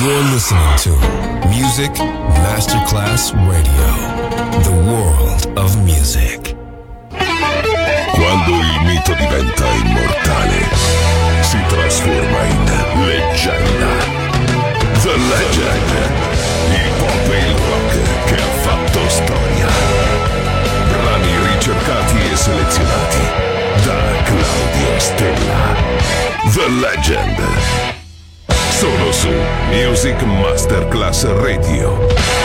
You're listening to Music Masterclass Radio, the world of music. Quando il mito diventa immortale, si trasforma in leggenda. The Legend, il pop e il rock che ha fatto storia. Brani ricercati e selezionati da Claudio Stella. The Legend. Solo su Music Masterclass Radio.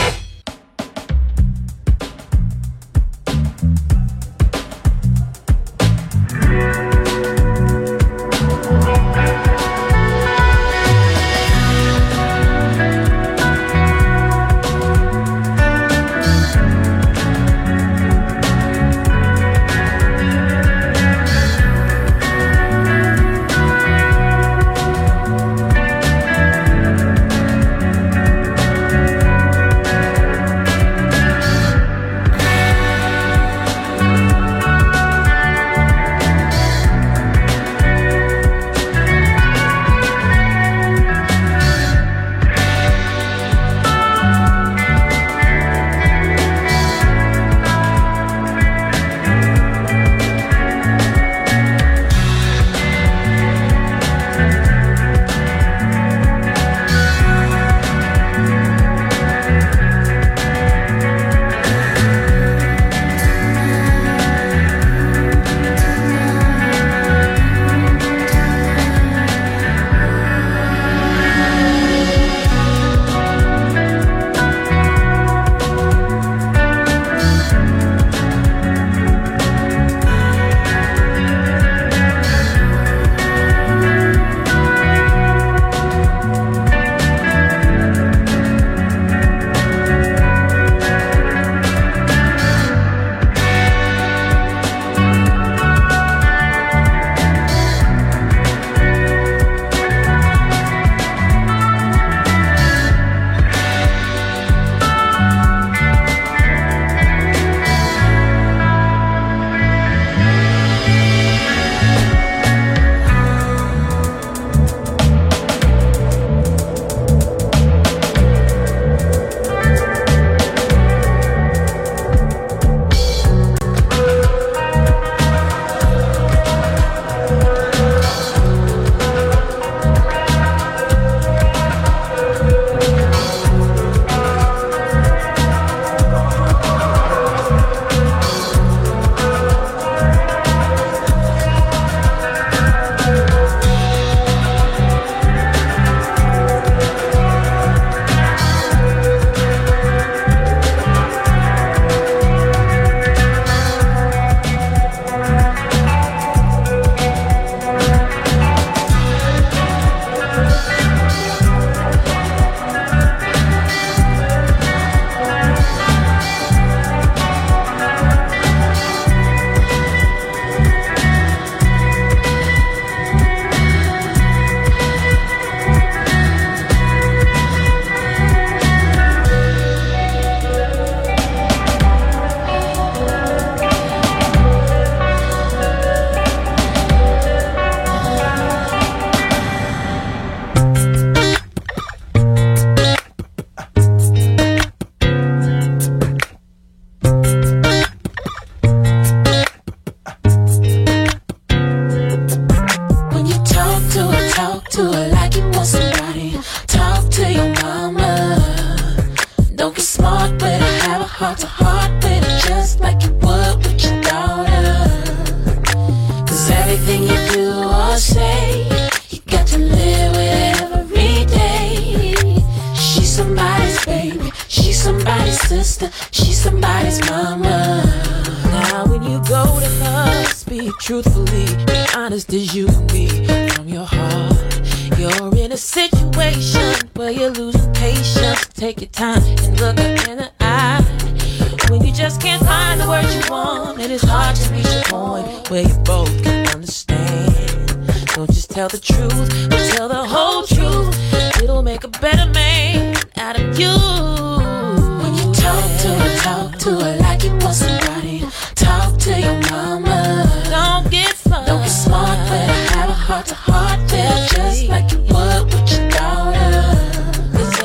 Heart to heart, feel just like you would with your daughter. 'Cause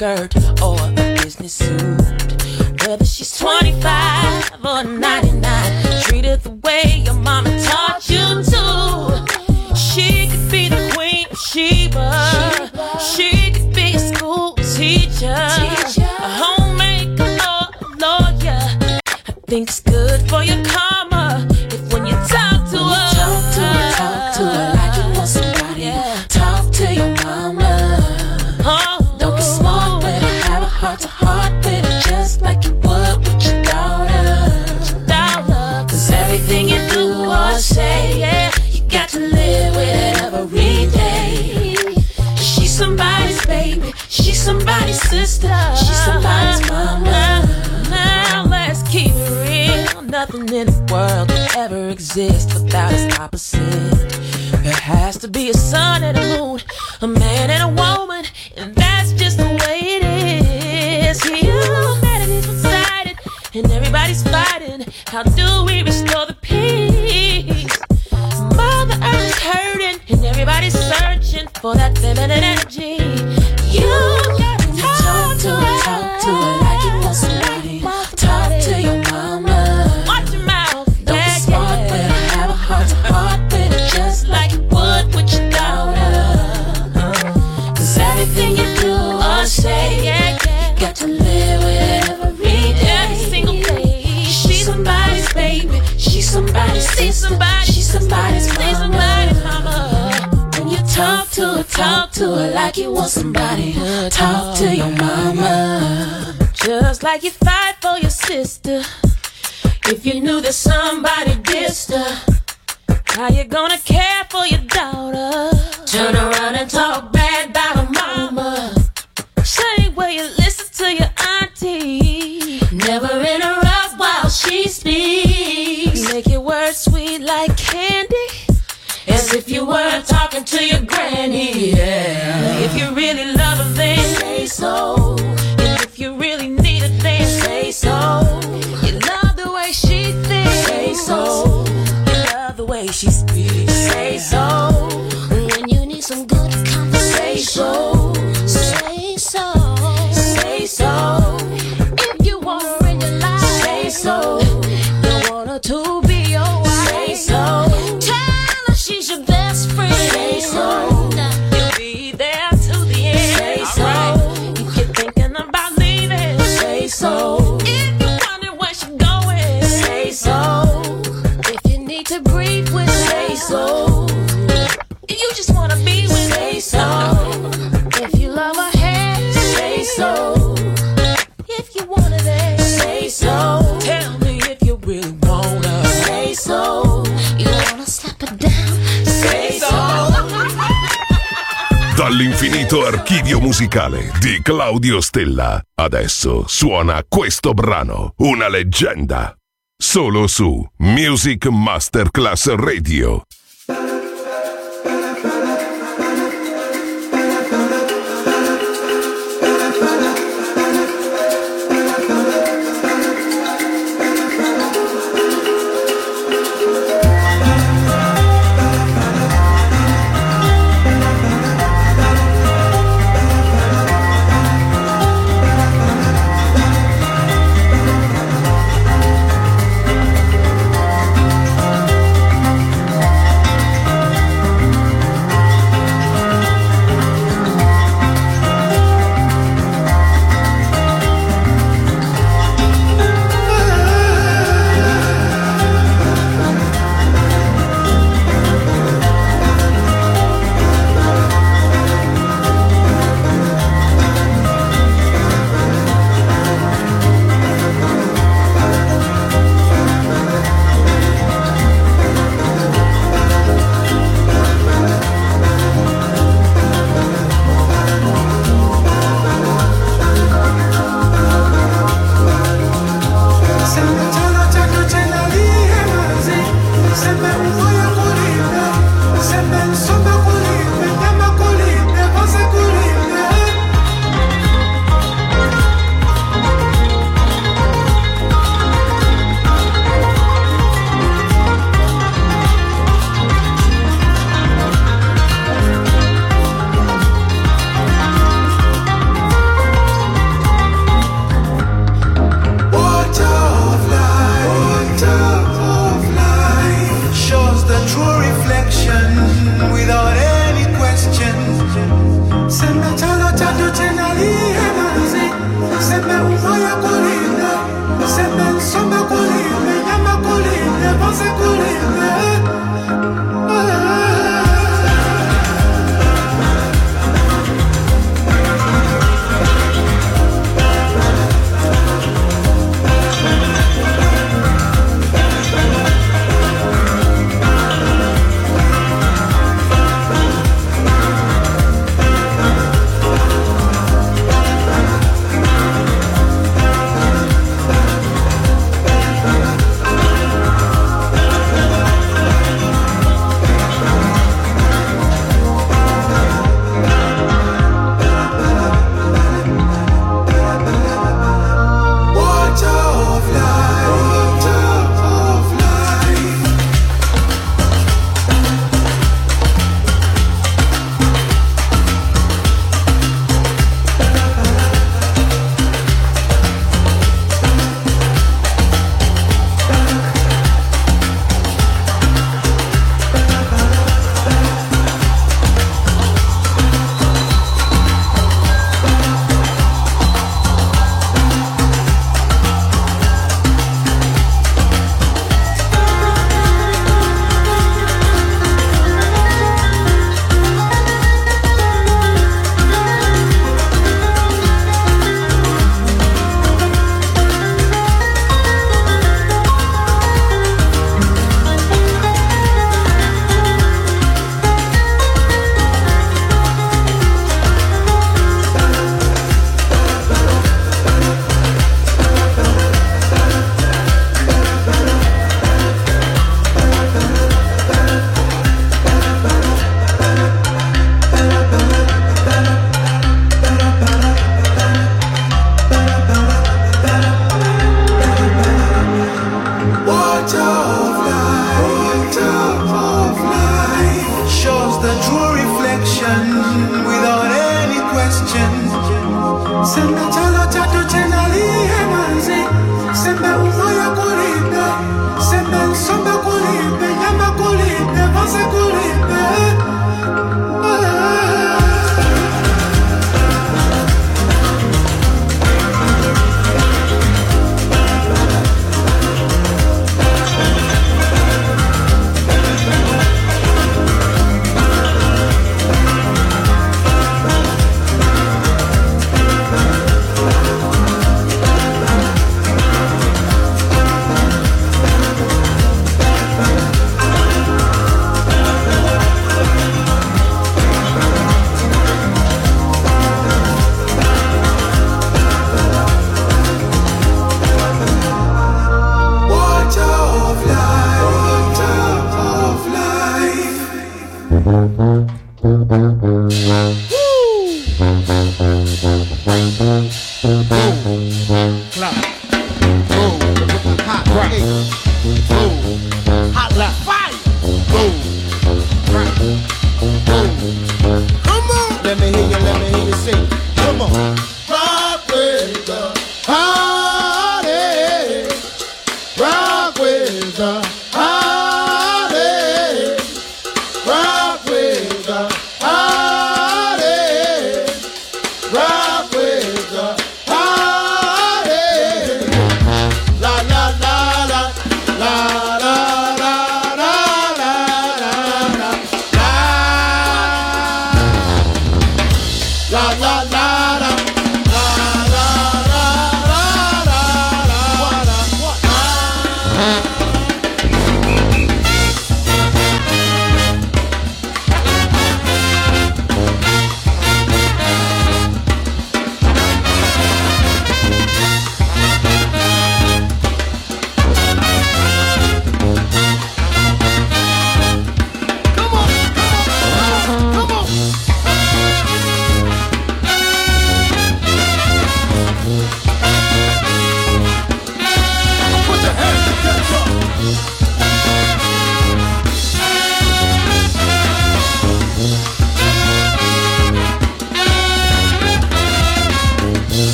skirt or a business suit. Whether she's 25 or 99, treat her the way your mama taught you to. She could be the queen of Sheba. She could be a school teacher, a homemaker or a lawyer. I think it's good for your karma if when you talk to her, talk to her like you want somebody. Yeah. Talk to your mama. Oh, don't be smart with her, have a heart to heart with her, just like you would with your daughter. Cause everything you do or say, yeah, you got to live with it every day. She's somebody's baby, she's somebody's sister, she's somebody's mama. Now let's keep it real. Nothing in the world can ever exist without its opposite. There has to be a sun and a moon, a man and a woman, and that's just the way it is. Humanity's one-sided and everybody's fighting. How do we restore the peace? Mother Earth is hurting and everybody's searching for that feminine energy. You gotta talk to her like you want somebody. Talk to your mama. Watch your mouth. Don't be smart with her, have a heart to heart with her, just like you would with your daughter. Cause everything you do or say, yeah, you got to live with it every day. Every single day. She's somebody's baby, she's somebody's sister, she's somebody's mama. When you talk to her like you want somebody. Talk to your mama. Just like you fight for your sister. If you knew that somebody dissed her, how you gonna care for your daughter? Turn around and talk bad about her mama. Same way you listen to your auntie. Never interrupt while she speaks. Make your words sweet like candy, as if you were talking to your granny. Yeah. If you really love her, then say so. And if you really need her, then say so. You love the way she thinks. Say so. You love the way she speaks. Say so. When you need some good conversation, say so. Say so. If you want her in your life, say so. You want her to be your wife, say so. Tell her she's your best friend, say so. You'll be there till the end, say so. Right. If you're thinking about leaving, say so. If you're wondering where she's going, say so. If you need to breathe with her, say so. If you just wanna be with say her, so. If you love her hair, say so. If you want her there, say so. Tell me if you really want her, say so. You wanna slap her down, say so. Dall'infinito archivio musicale di Claudio Stella, adesso suona questo brano, una leggenda, solo su Music Masterclass Radio.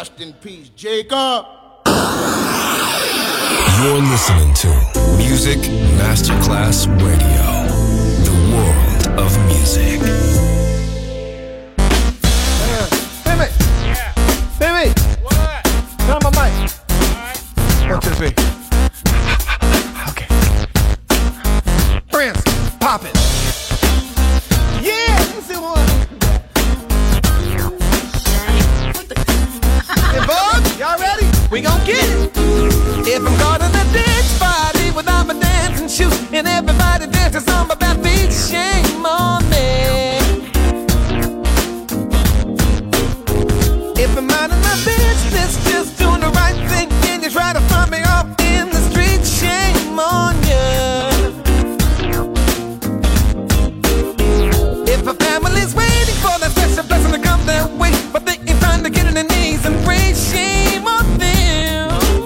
Rest in peace, Jacob. You're listening to Music Masterclass Radio, the world of music. Timmy! Yeah. Timmy! What? Turn on my mic. Alright. 1, 2, 3. Okay. Prince, pop it. Yeah, let's see one. Hey, Bug, y'all ready? We gon' get it. If I'm caught in a dance party without my dancing shoes and everybody dances on my back feet, shame on me. If I'm minding my business, just doing the right thing, and you try to find me off in the street, shame on you. If a family's waiting for that special blessing to come their way, but they ain't trying to get on their knees and pray, shame on them.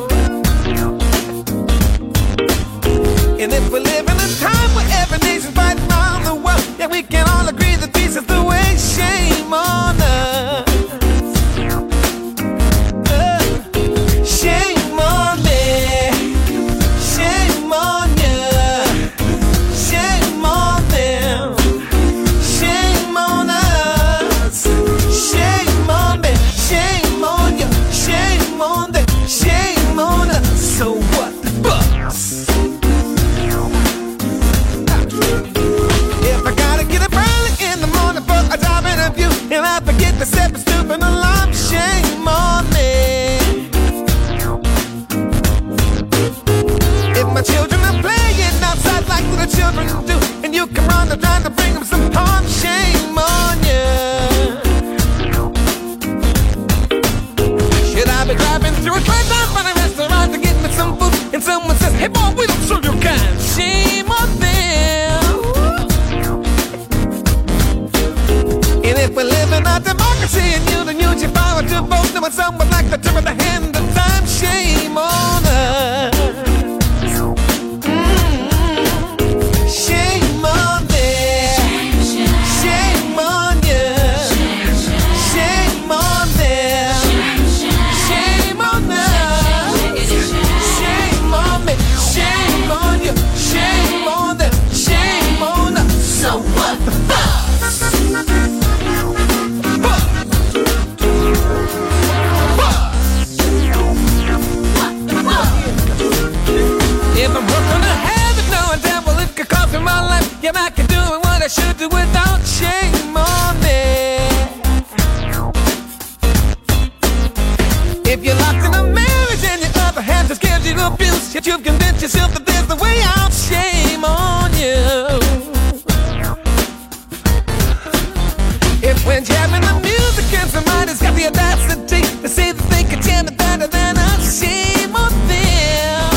And if we live in a time where every nation's fighting around the world, yeah, we can all agree that peace is the way, shame on us. Shame on me, shame on you, shame on them, shame on us, shame on me, shame on you, shame on them, shame on us. So what the fuss? If I gotta get up early in the morning for a job interview and I forget to set the stupid alarm, shame on me. If my children are playing outside like little children do, and you come round and trying to bring them some harm, shame on you. Should I be driving through a drive-by by a restaurant to get me some food, and someone says, hey boy, we don't serve your kind, shame on them. And if we live in a democracy and you don't use your power to vote, then when someone like to turn the hand of time, shame on us. Shame on them, shame on you, shame on them, shame on us, shame on me, shame on you, shame on them, shame on us. So what the fuck? If I'm working to have it, knowing damn well it could cost me my life, yeah, I can do what I should do without shame on me. If you're locked in a marriage and your other half just gives you abuse, yet you've convinced yourself that there's the way out, shame on you. If when jamming the music and somebody's got the audacity to say that they can jam it better than us, shame on them.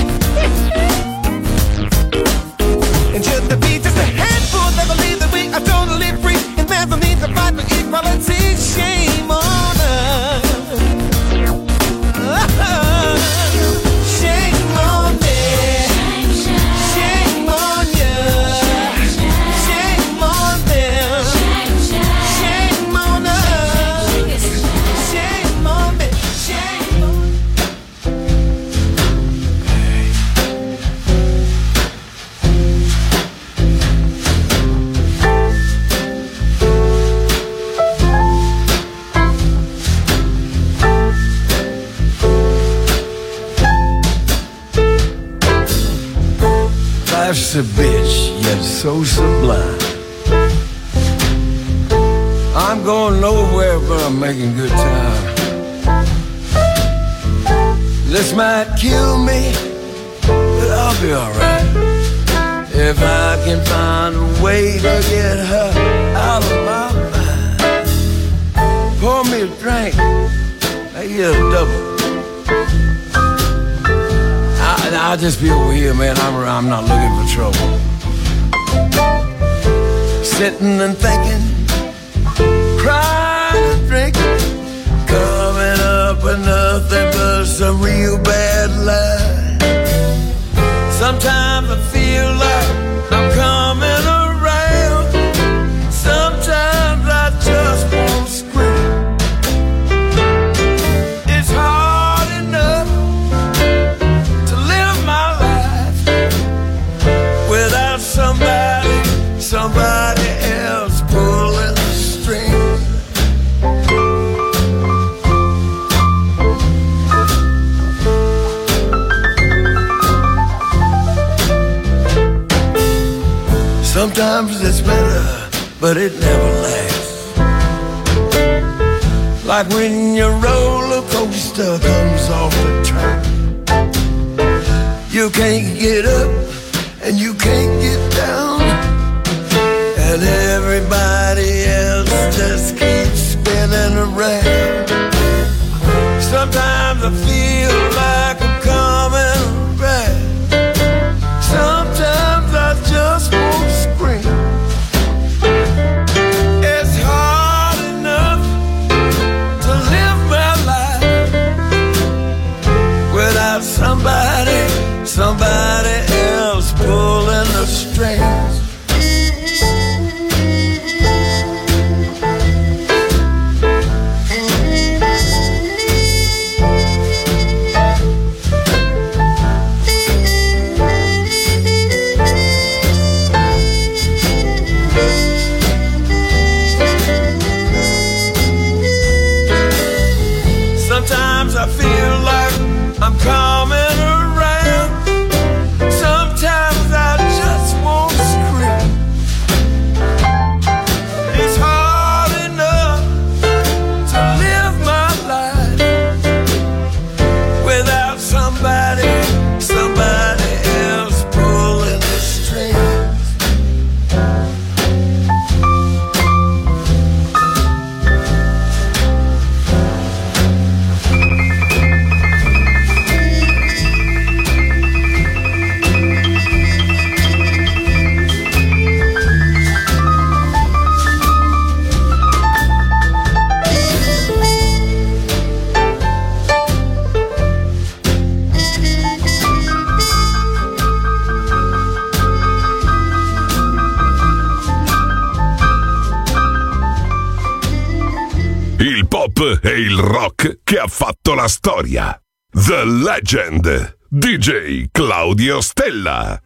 And should there be just a handful that believe that we are totally free and there's no need to fight for equality, shame on us. Shame on me, shame on you, shame on them, shame on us, shame on me, shame on. Life's a bitch, yet so sublime. I'm going nowhere, but I'm making good time. This might kill me, but I'll be alright. If I can find a way to get her out of my mind. Pour me a drink, I get a double. I'll just be over here, man. I'm not looking for trouble. Sitting and thinking, crying and drinking, coming up with nothing but some real bad lies. Sometimes I feel like I'm coming around. Sometimes I just want to scream. somebody else pulling the strings. Sometimes it's better, but it never lasts. Like when your roller coaster comes off the track. You can't get up and you can't get down, and everybody else just keeps spinning around. Sometimes I feel like I'm coming back. Sometimes I just want to scream. It's hard enough to live my life without somebody else pulling the strings. Sometimes I feel like I'm coming around. Sometimes I just want to scream. It's hard enough to live my life without somebody else pulling the strings. Il pop e il rock che ha fatto la storia. The Legend, DJ Claudio Stella.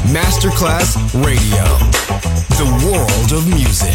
Masterclass Radio, the world of music.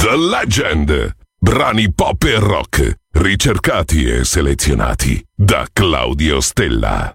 The Legend. Brani pop e rock, ricercati e selezionati da Claudio Stella.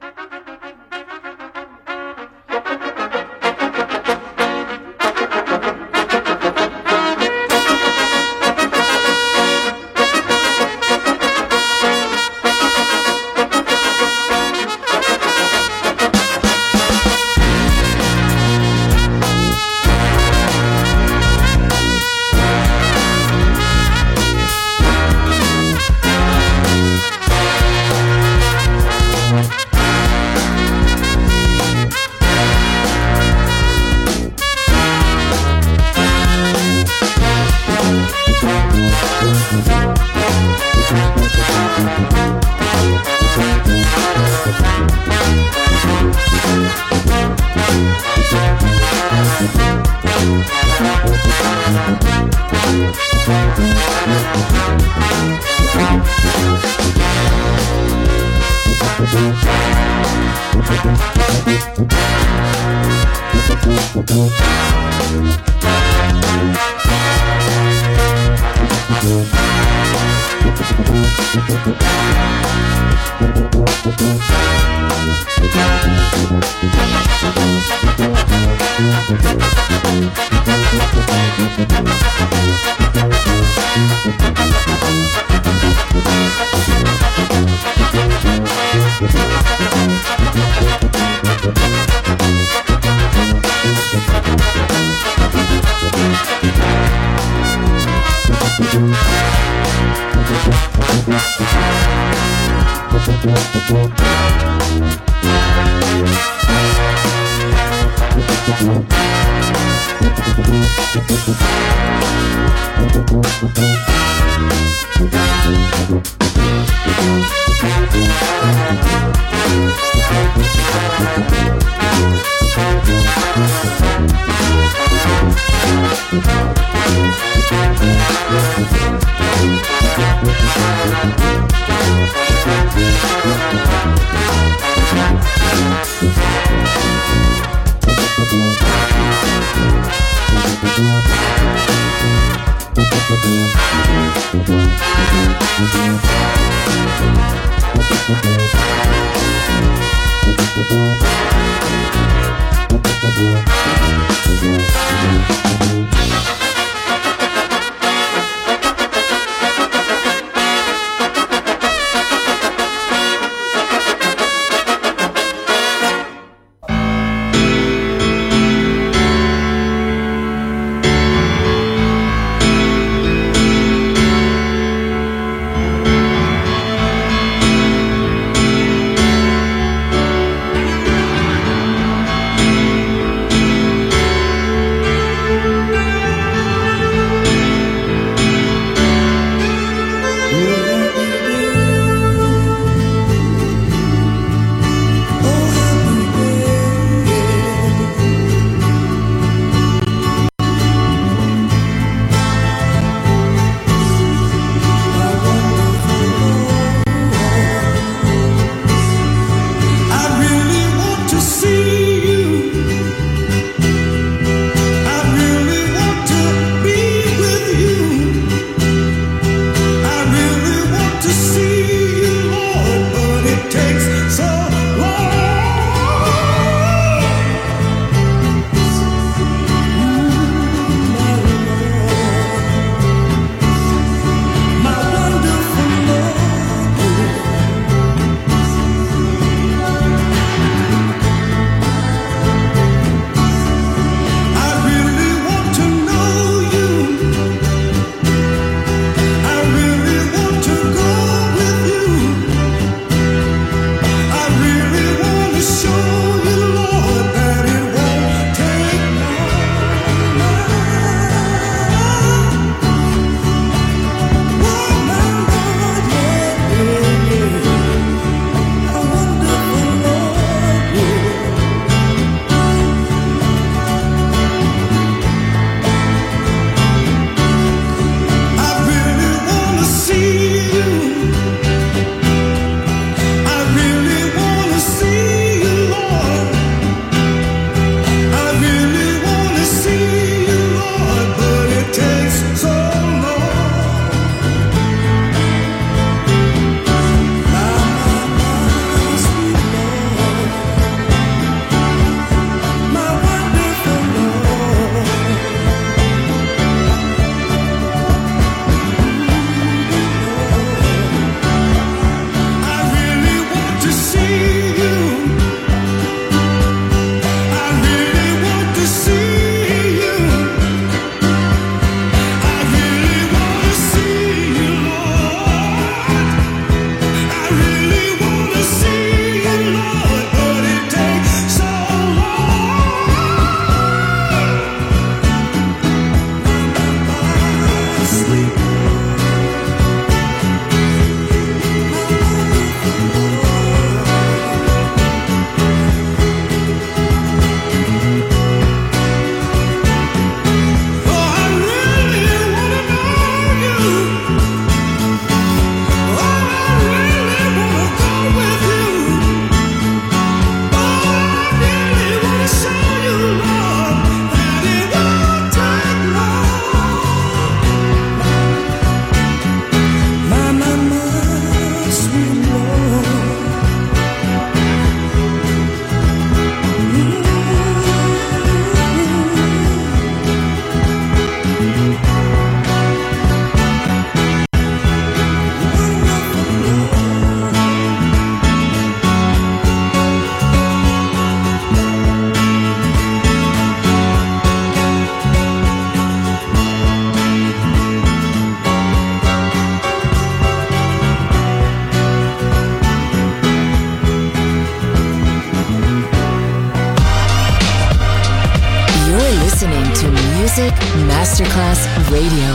Music Masterclass Radio.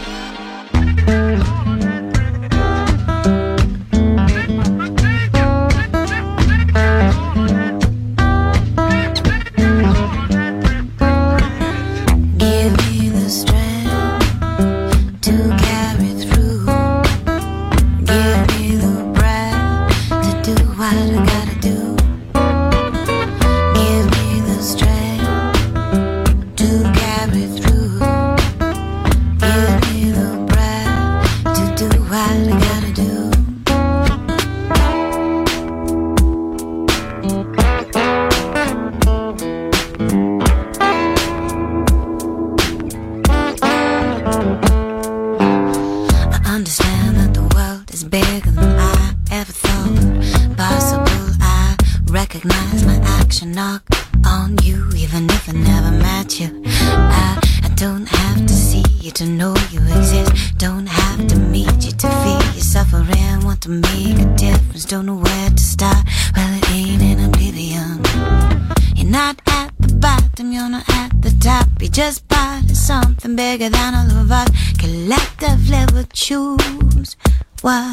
Bigger than all of us collectively would choose what?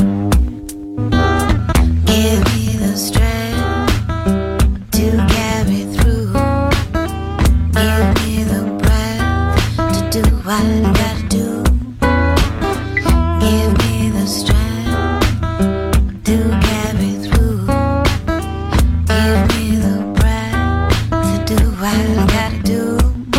Give me the strength to carry through. Give me the breath to do what I gotta do. Give me the strength to carry through. Give me the breath to do what I gotta do.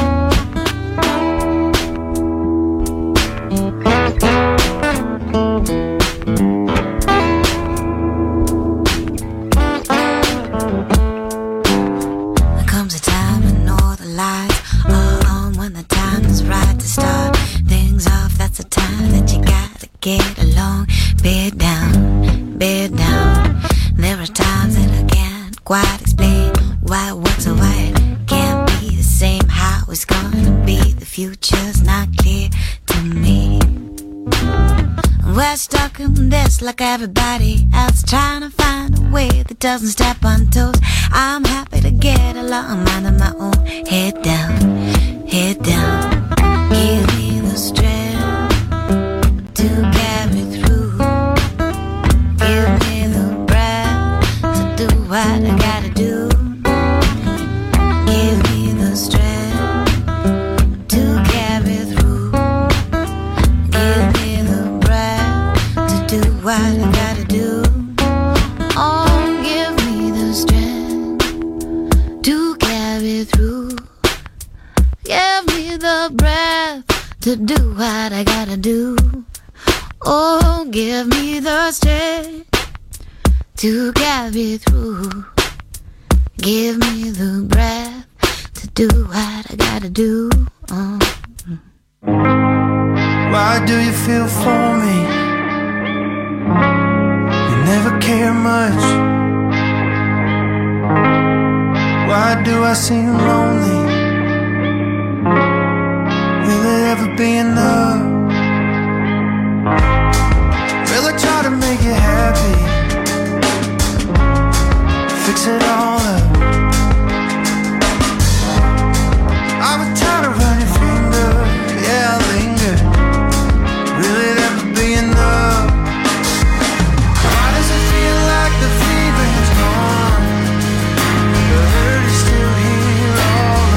Get along, bed down, bed down. There are times that I can't quite explain why what's so why it can't be the same. How it's gonna be, the future's not clear to me. We're stuck in this like everybody else, trying to find a way that doesn't step on toes. I'm happy to get along, minding my own, head down, head down. Give me the strength to carry through. Give me the breath to do what I gotta do. Give me the strength to carry through. Give me the breath to do what I gotta do. Oh, give me the strength to carry through. Give me the breath to do what I gotta do. Oh, give me the strength to carry through. Give me the breath to do what I gotta do. Oh. Why do you feel for me? You never care much. Why do I seem lonely? Will it ever be enough? Will I try to make you happy? Fix it all up. I would try to run your finger, yeah, I'll linger. Will it ever be enough? Why does it feel like the feeling's gone? The hurt is still here all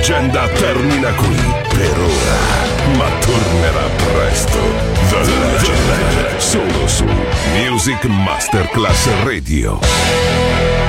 leggenda termina qui per ora, ma tornerà presto. The Legend, solo su Music Masterclass Radio.